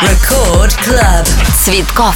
Record Club. Цветков.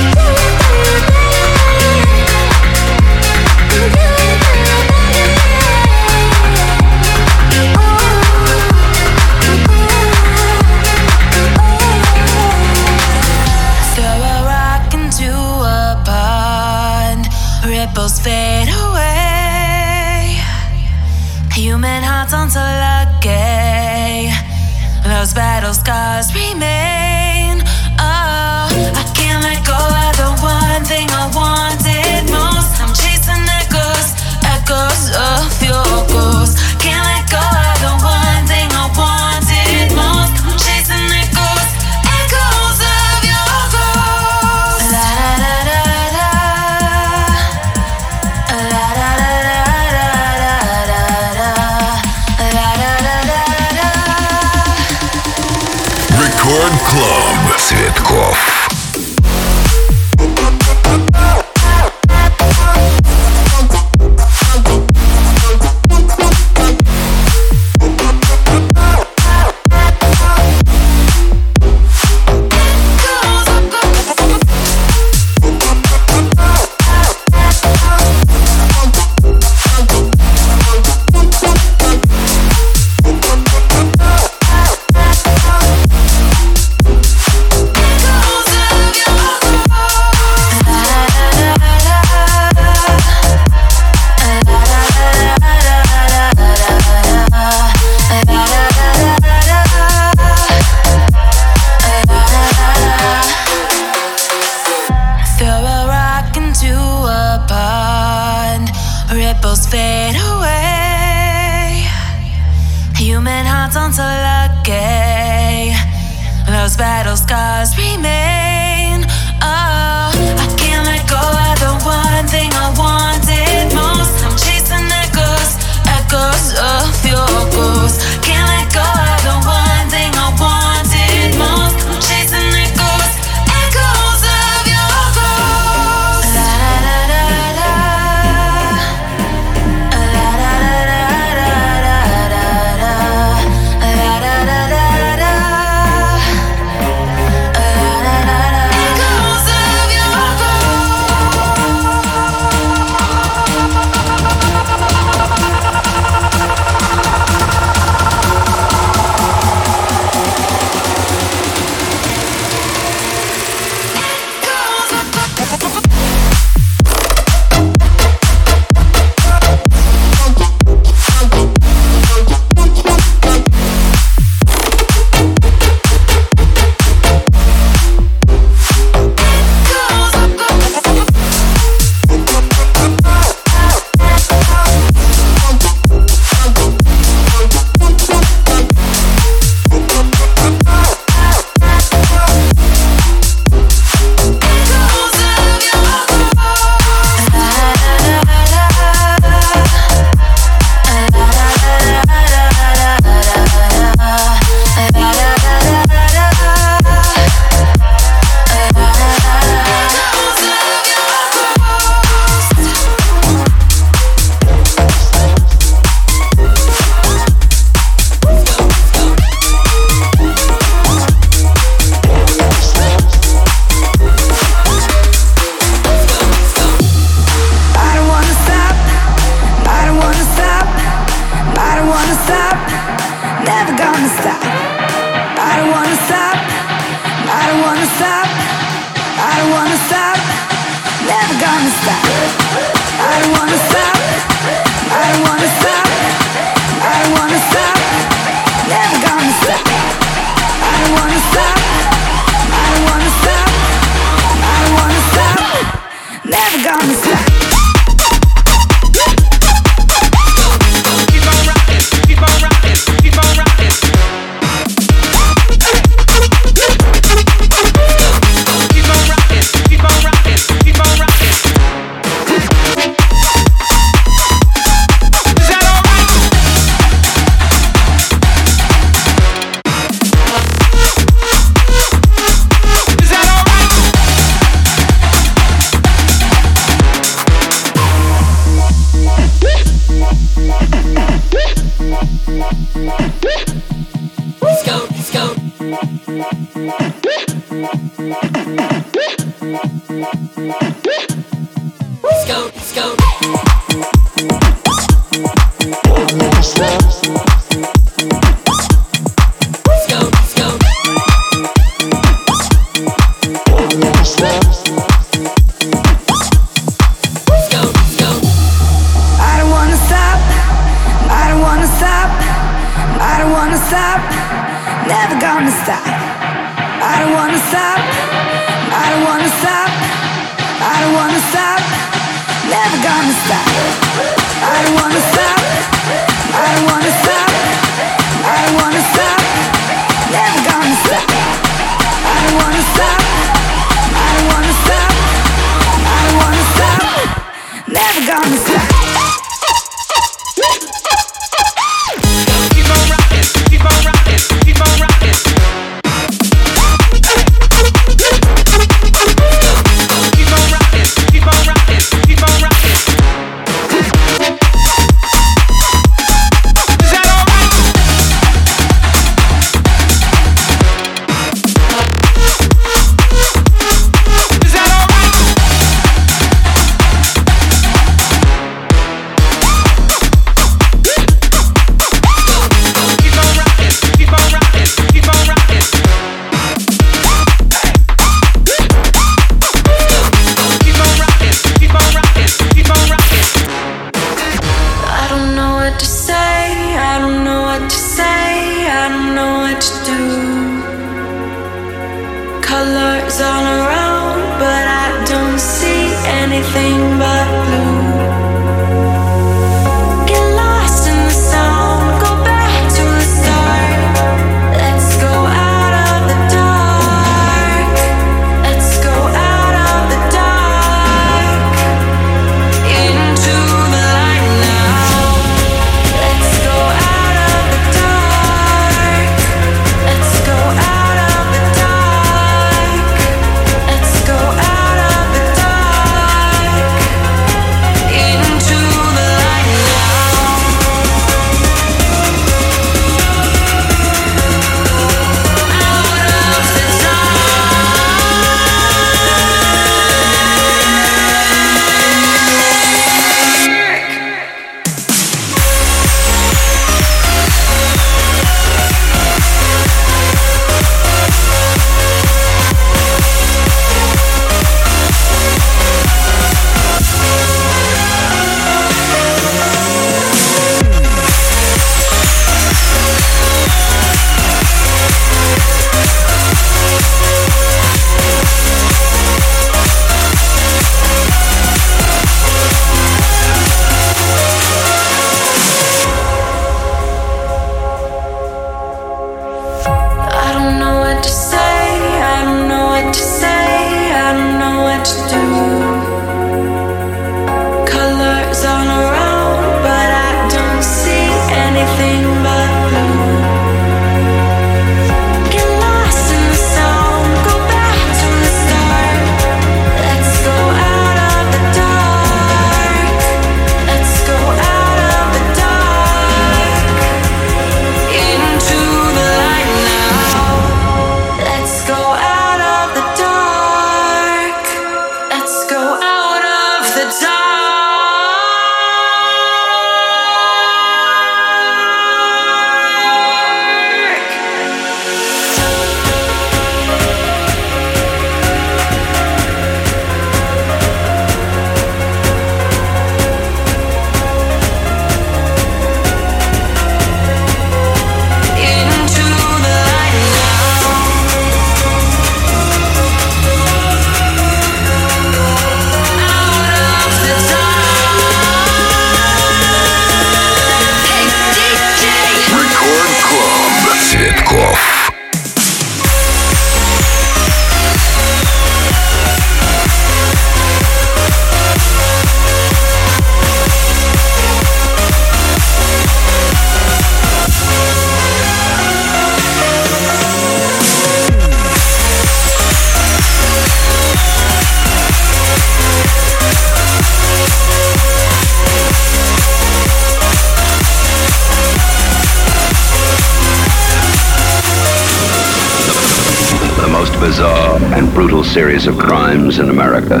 bizarre, and brutal series of crimes in America.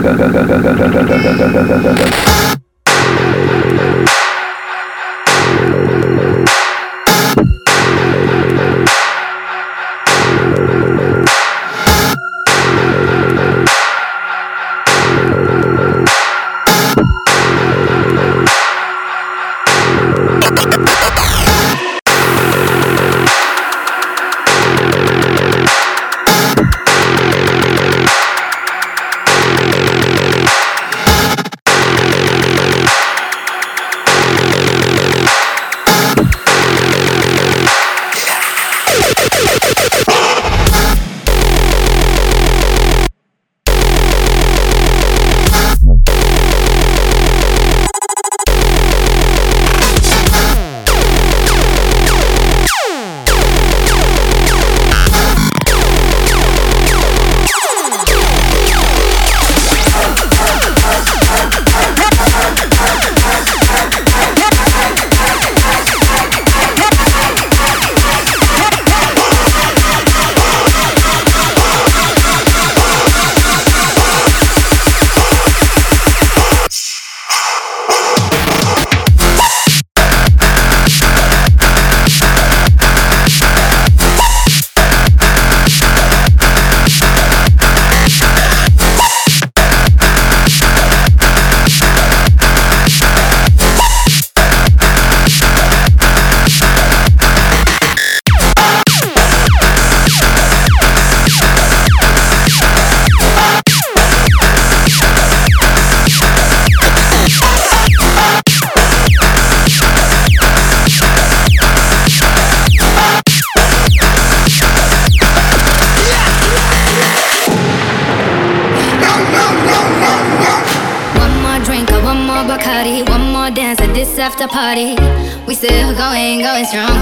After party, we still going strong.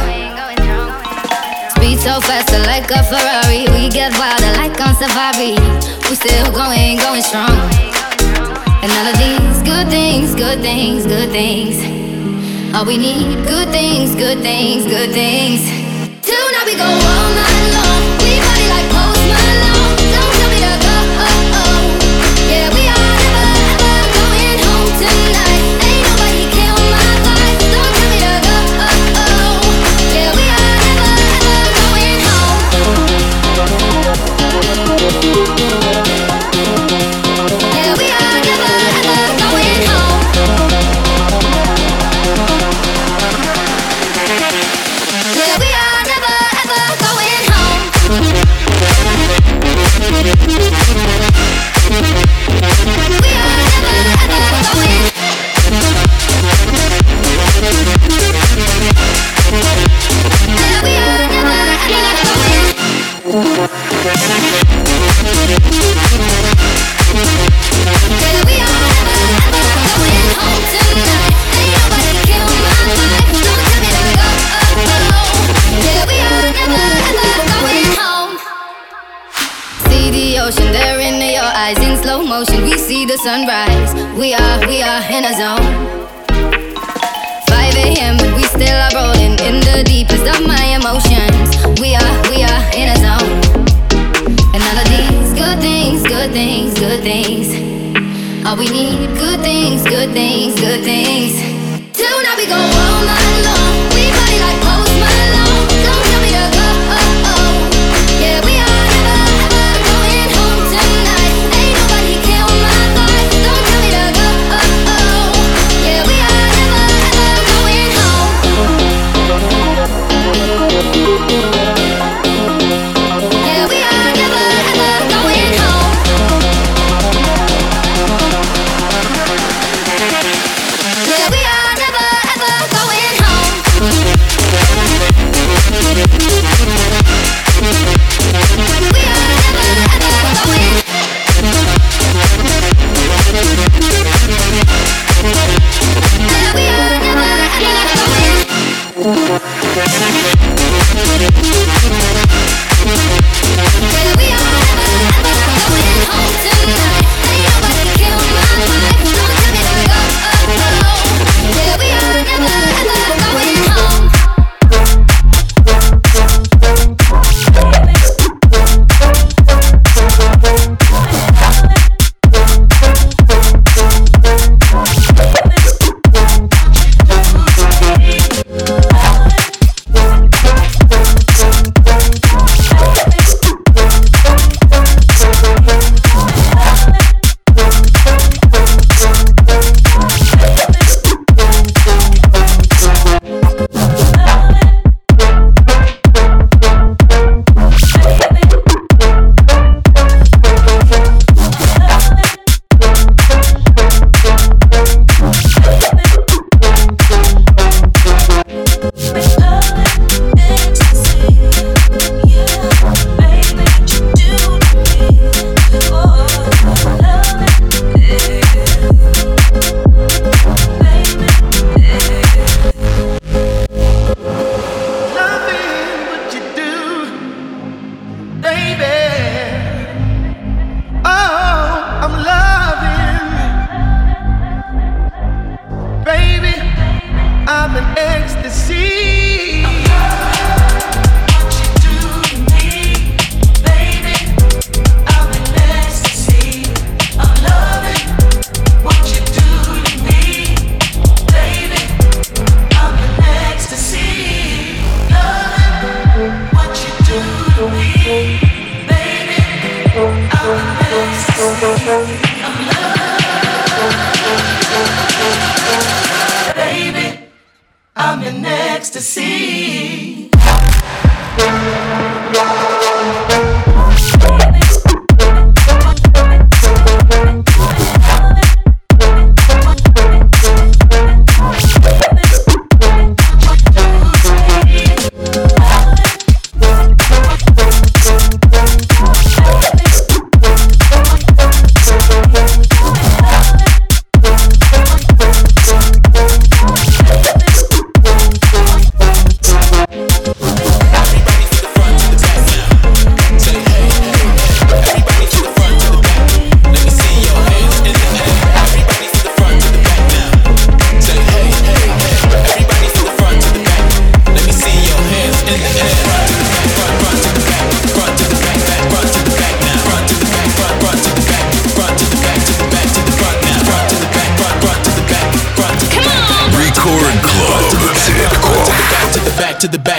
Speed so faster like a Ferrari. We get wilder like on safari. We still going strong. And all of these good things, good things, good things. All we need, good things, good things, good things. Tonight we go all night long. We party like Post Malone. Don't tell me to go. Yeah, we are never ever going home tonight. Ain't nobody kill my vibe. Don't tell me to go. Yeah, we are never ever going home. Yeah, we are never ever going home. Yeah, we are never ever going home. We are never ever going. Yeah, we are never ever going. Yeah, we are never ever going home tonight. Ain't nobody kill my vibe. Don't tell me to go. Yeah, we are never ever going home. See the ocean there in your eyes in slow motion. We see the sunrise. We are in a zone. 5 a.m. and we still are rolling in the deepest of my emotions. We are in a zone. And all of these good things, good things, good things. All we need, good things, good things, good things. Tonight we go all night long. We party like Post Malone. Don't tell me to go. Yeah, we are never ever going home tonight. Ain't nobody kill my vibe. Don't tell me to go. Yeah, we are never ever going home. Yeah, we are never ever going home. Yeah, we are never ever going home.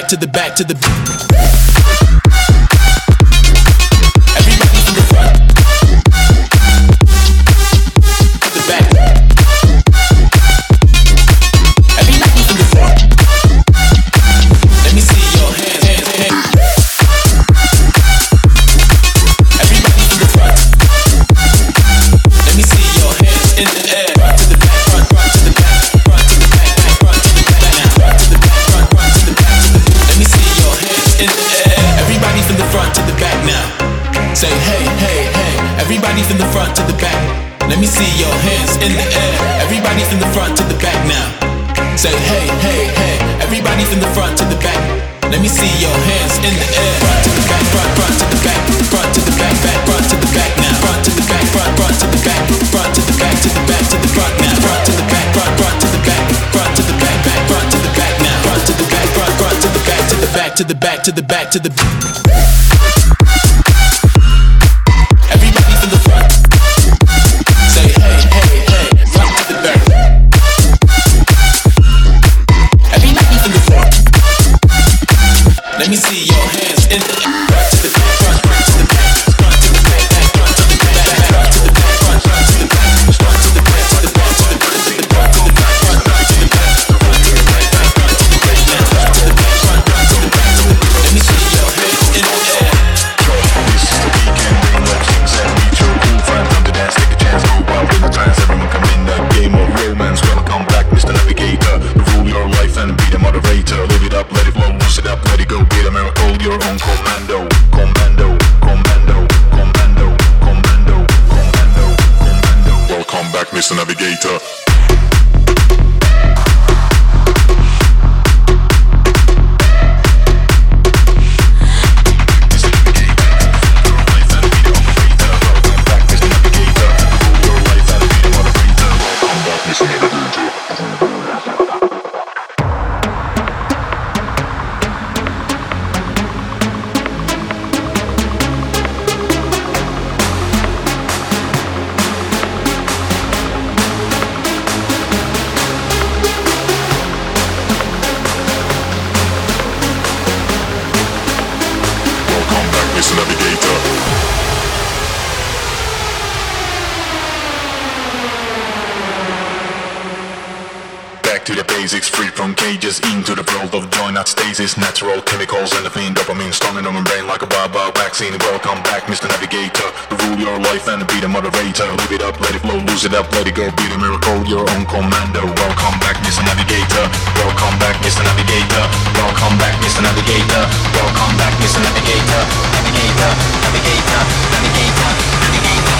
back to the back to the. Everybody from the front to the back. Everybody from the front. Let me see your hands, hands, hands. Everybody from the front. Let me see your hands in the air. Front to the back, front to the back, front to the back, front to the back, now. Front to the back, front to the back. Let me see your hands in the air. Everybody from the front to the back now. Say hey, hey, hey. Everybody from the front to the back. Let me see your hands in the air. Everybody from the front to the back now. Say hey, hey, hey. Everybody from the front to the back. Let me see your hands in the air. Front to the back, front to the back, front to the back, front to the back now. Front to the back, front to the back, front to the back, to the back, to the front now. Front to the back, front to the back, front to the back, front to the back now. Front to the back, front to the back, to the back, to the back, to the back, to the. Everybody from the front. Say hey, hey, hey. Front to the back. Everybody from the front. Let me see your hands in the front to the back, front to the back, front to the back, front to the back, front to the back, front to the back, front to the back, to the back, to the back, to the back, to the back, front to the back, front to the back, front to the back, front to the back, front to the back. Let me see your hands in the air. This is the weekend, bring love, things and meet your cool friends. Time to dance, take a chance, go wild in the trance. Everyone come in the game of romance. Welcome back, Mr. Navigator. Rule your life and be the moderator. Live it up, let it flow, loose it up, let it go. Be the miracle, your own commando. Commando, commando, commando, commando, commando, commando. Welcome back, Mr. Navigator. Mr. Navigator. Back to the basics, free from cages, into the world of joy, not stasis. Natural chemicals and the fiend dopamine, stunning on my brain like a wild vaccine. Welcome back, Mr. Navigator. Rule your life and be the moderator. Live it up, let it flow, lose it up, let it go. Be the miracle, your own commando. Welcome back, Mr. Navigator. Welcome back, Mr. Navigator. Welcome back, Mr. Navigator. Welcome back, Mr. Navigator. Navigator, navigator, navigator, navigator,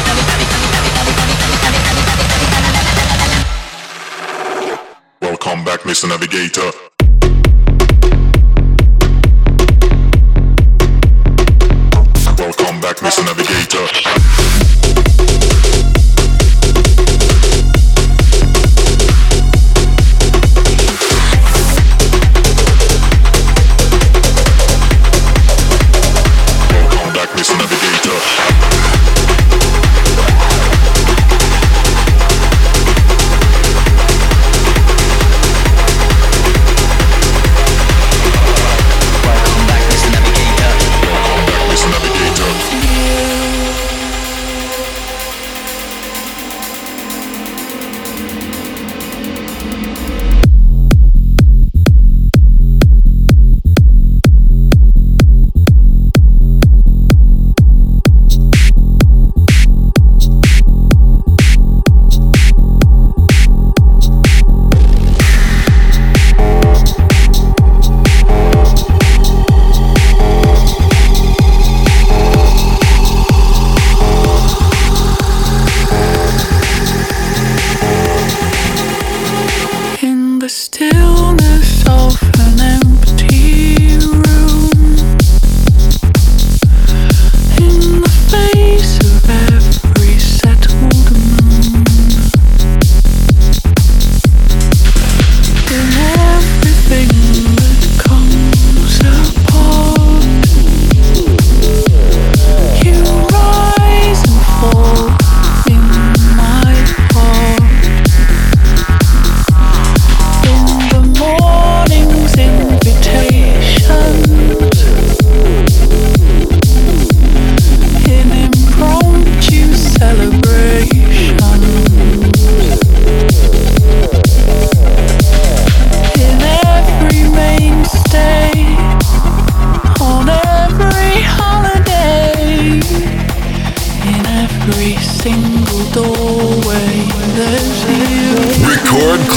welcome back, Mr. Navigator. Welcome back, Mr. Navigator.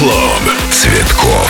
Клуб Цветков.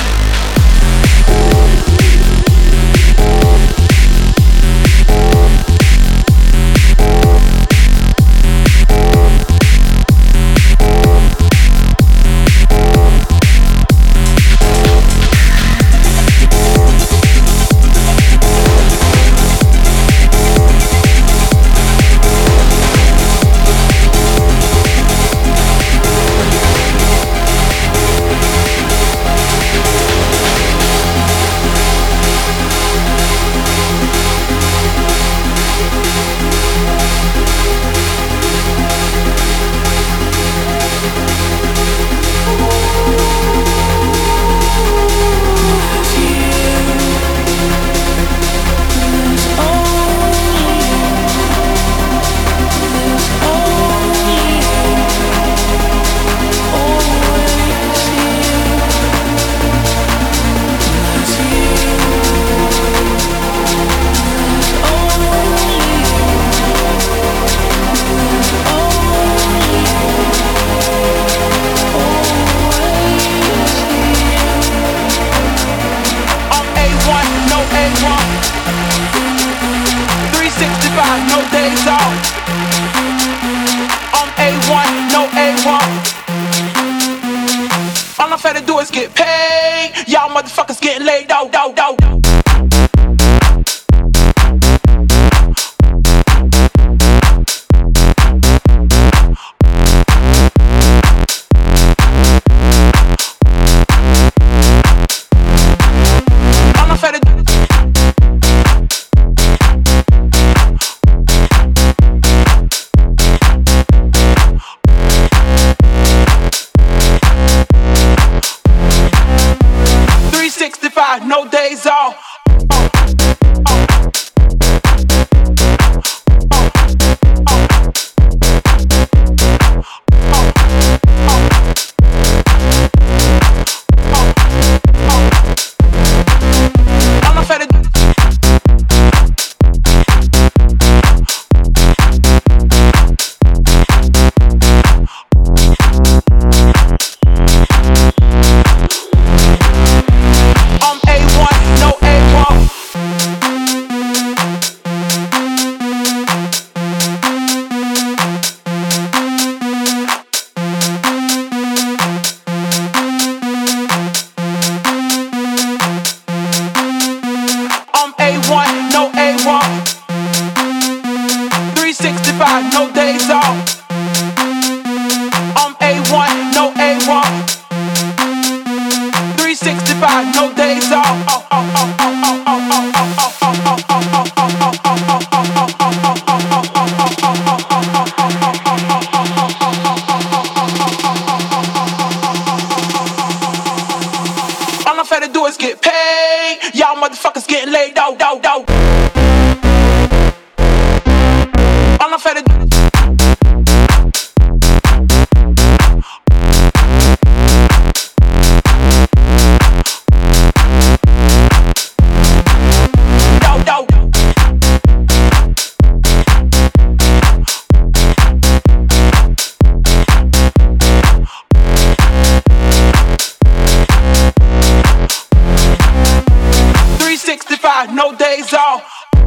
No days off.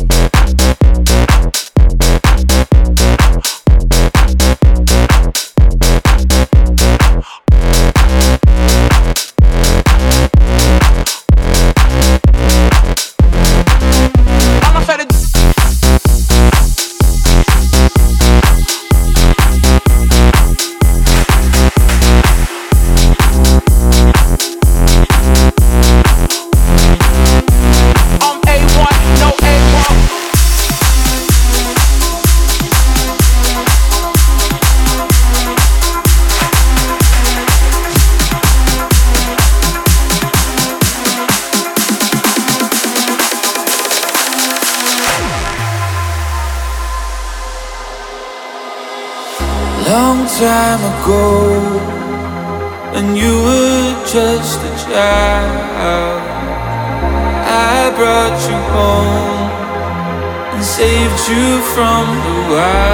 Long time ago, when you were just a child, I brought you home and saved you from the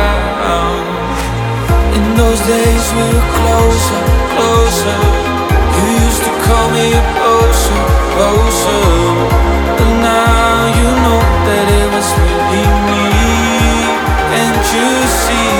wild. In those days we were closer, closer. You used to call me a potion, potion, but now you know that it was really me. Can't you see?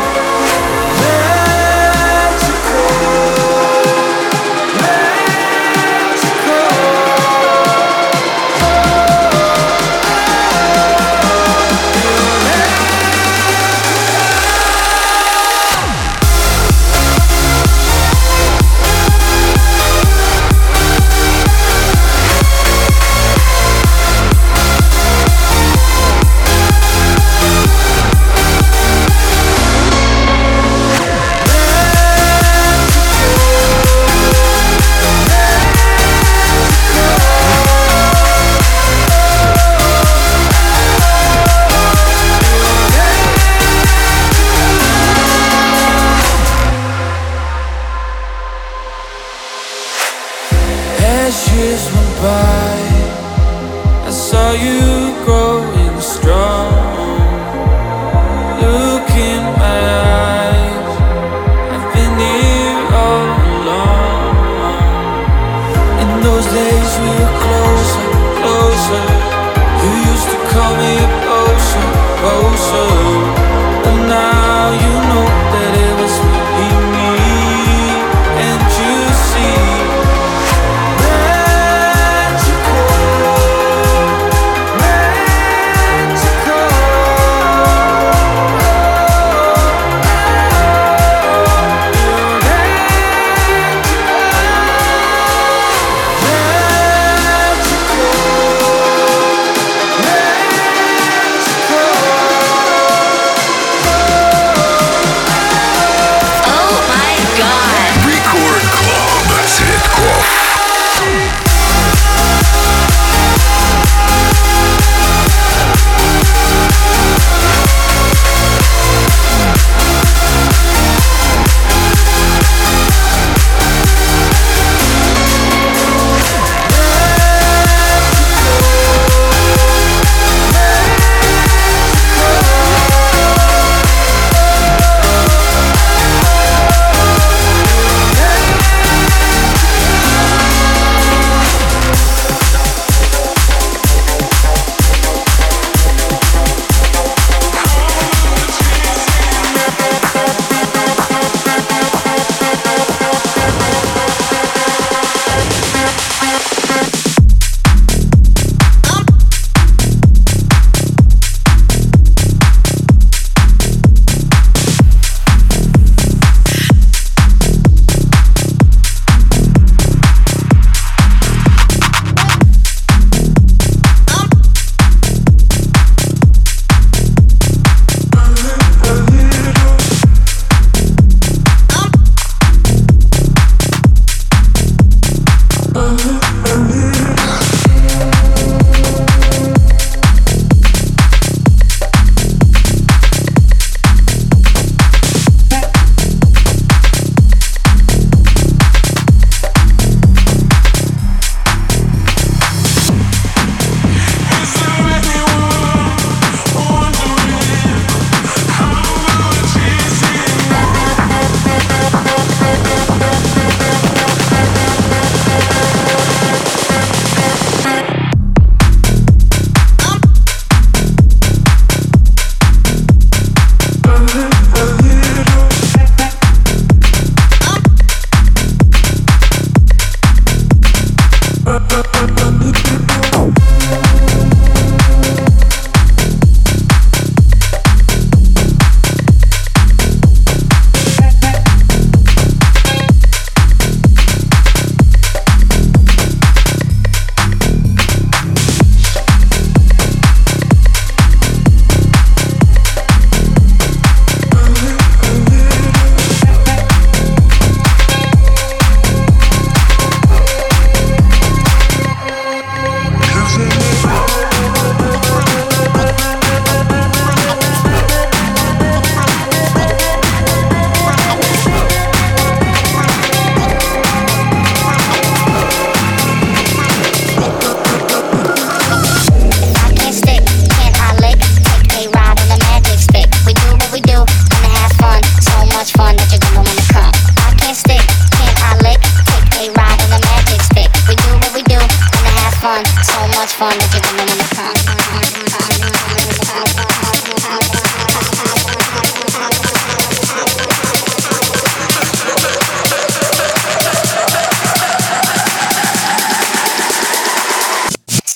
As years went by, I saw you growing strong. Look in my eyes, I've been here all along. In those days we were closer, closer. You used to call me a potion, potion, but now you know that it was really me. Can't you see?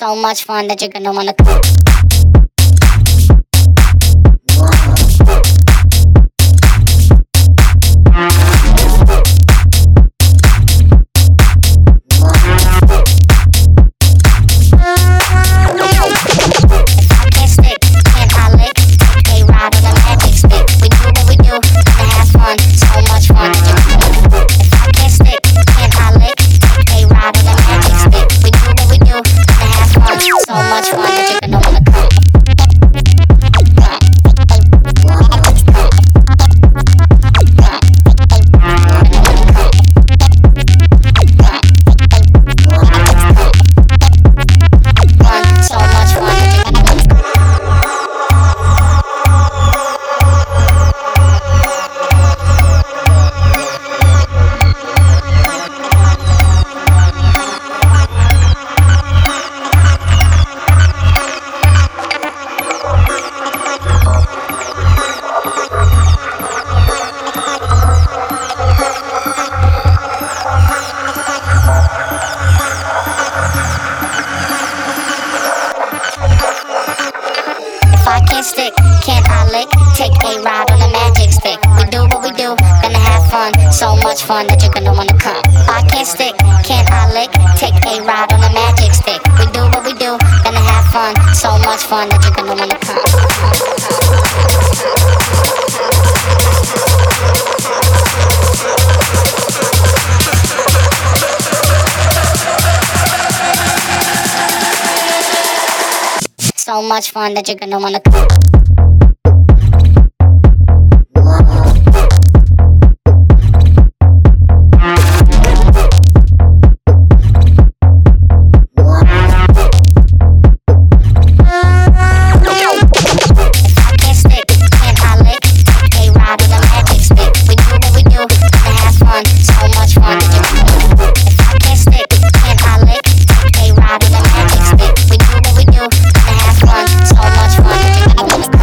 So much fun that you're gonna wanna. Fun that you're gonna wanna come. I can't stick, can't I lick? Take a ride on a magic stick. We do what we do, gonna have fun. So much fun that you're gonna wanna come. So much fun that you're gonna wanna come. So much fun.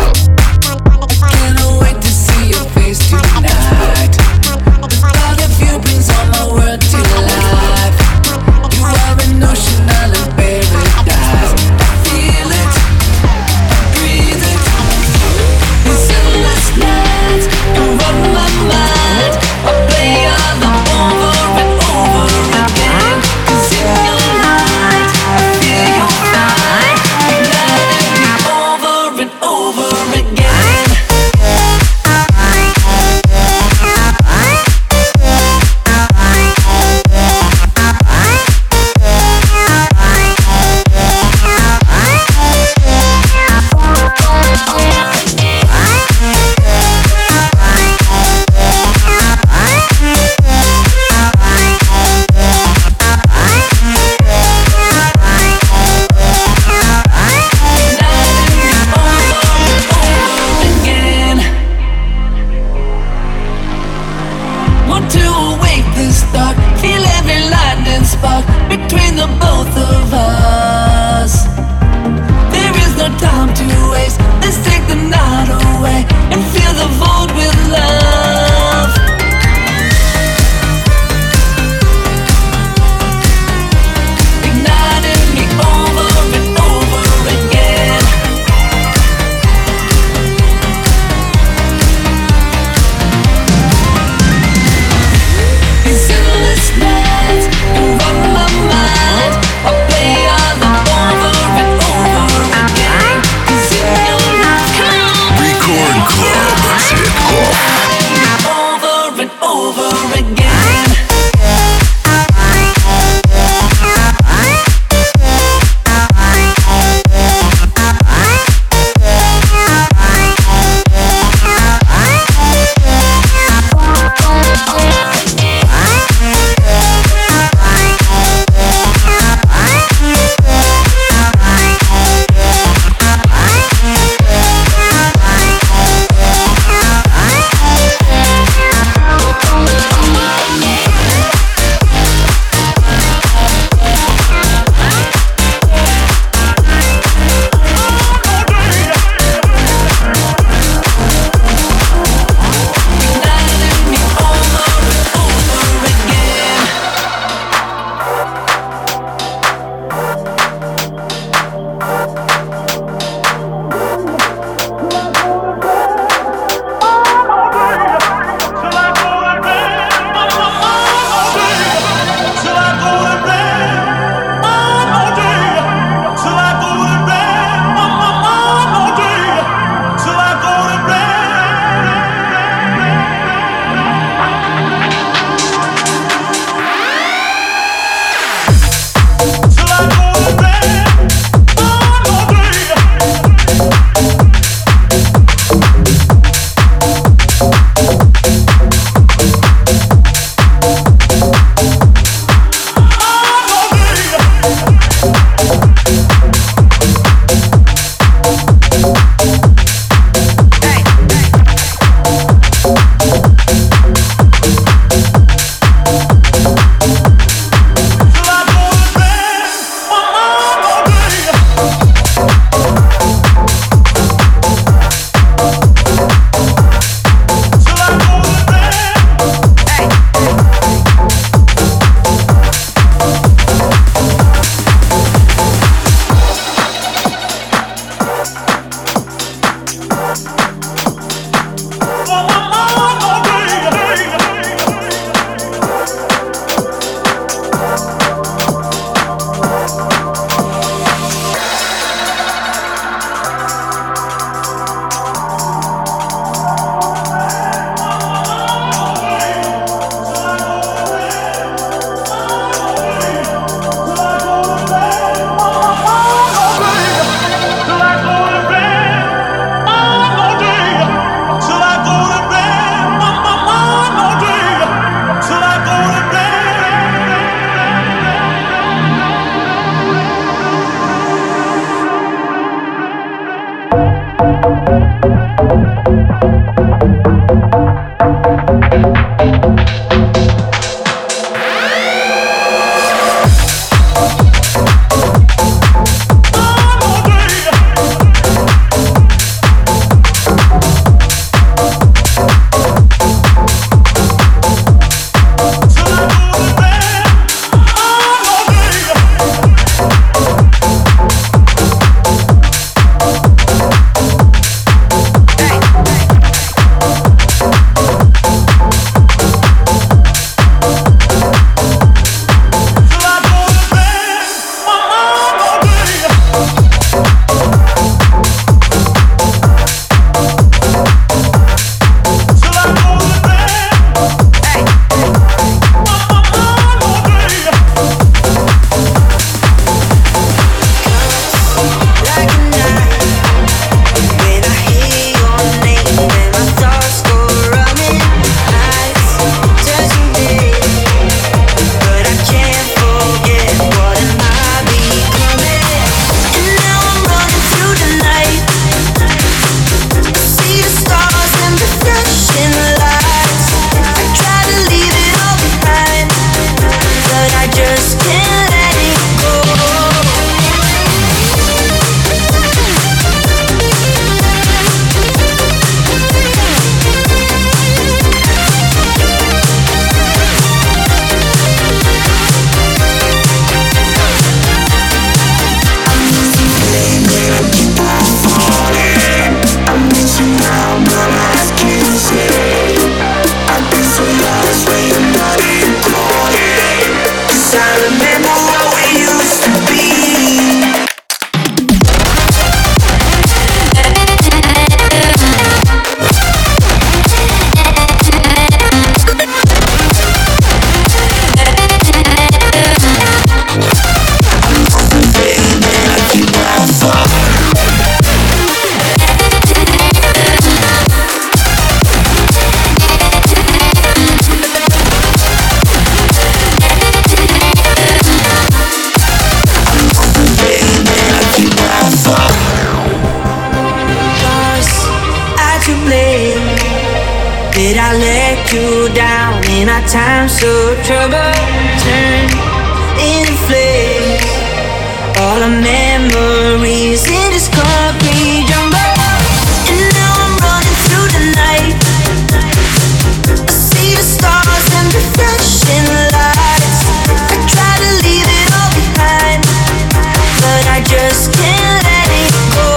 Did I let you down in our time so trouble? Turn into flames. All our memories in this concrete jungle. And now I'm running through the night. I see the stars and the flashing lights. I try to leave it all behind, but I just can't let it go.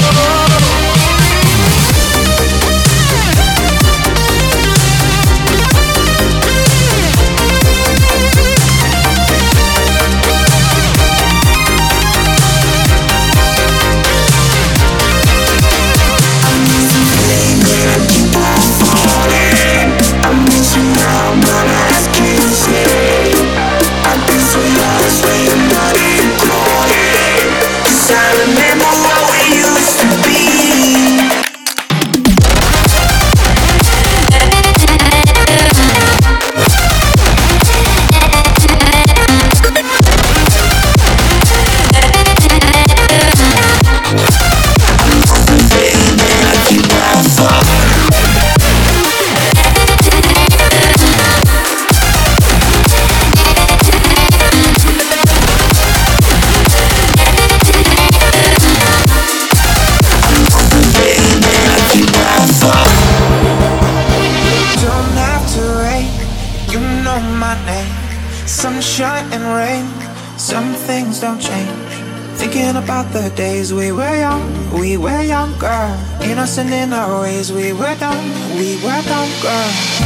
The days we were younger, innocent in our ways. We were dumb, girl.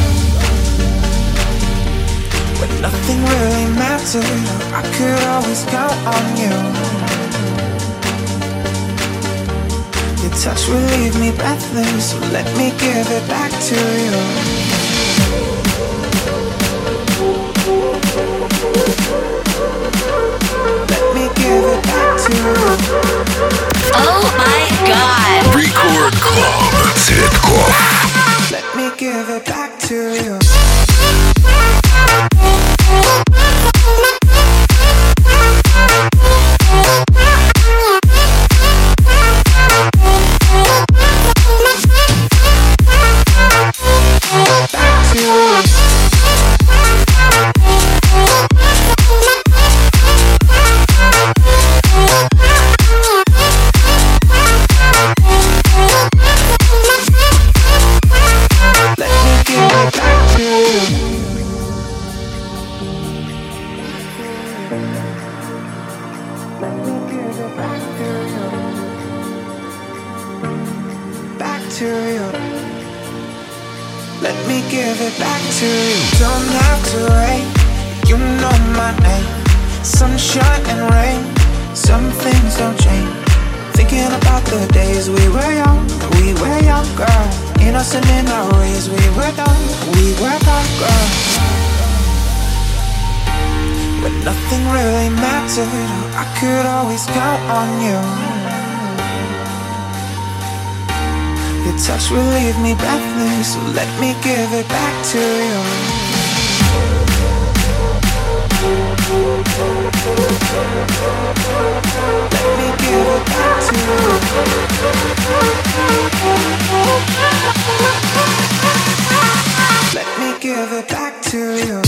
When nothing really mattered, I could always count on you. Your touch will leave me breathless, so let me give it back to you. Let me give it back to you. Oh my God! Record Club Цветков. Let me give it back to you. I could always count on you. Your touch will leave me breathless, so let me give it back to you. Let me give it back to you. Let me give it back to you.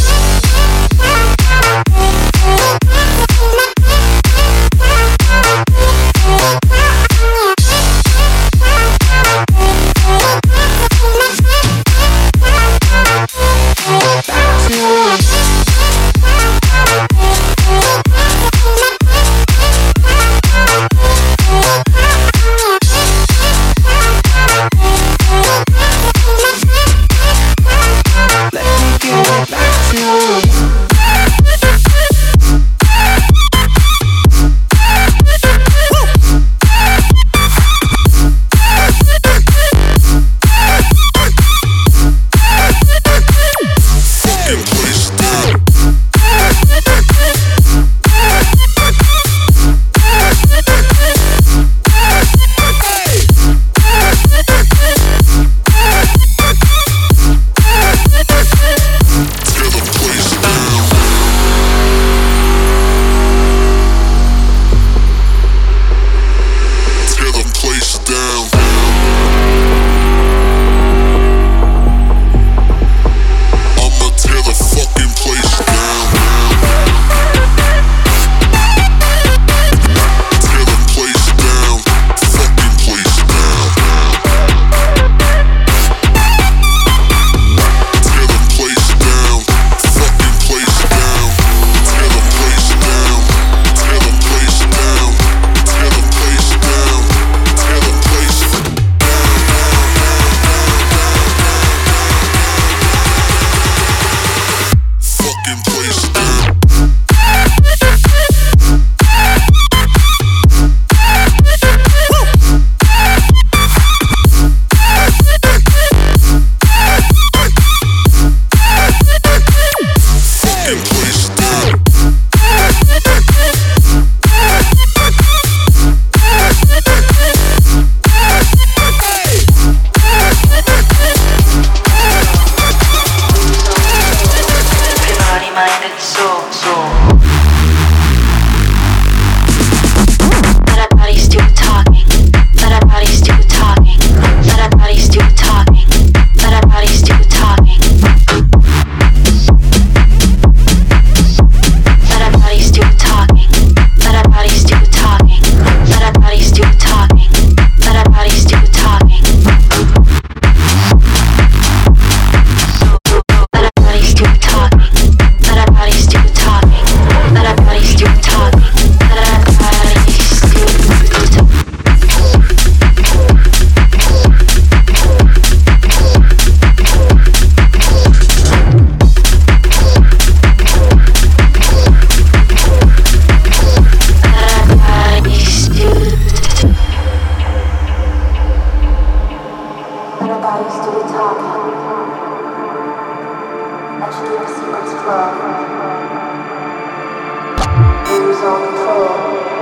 true secrets flow. Lose all control.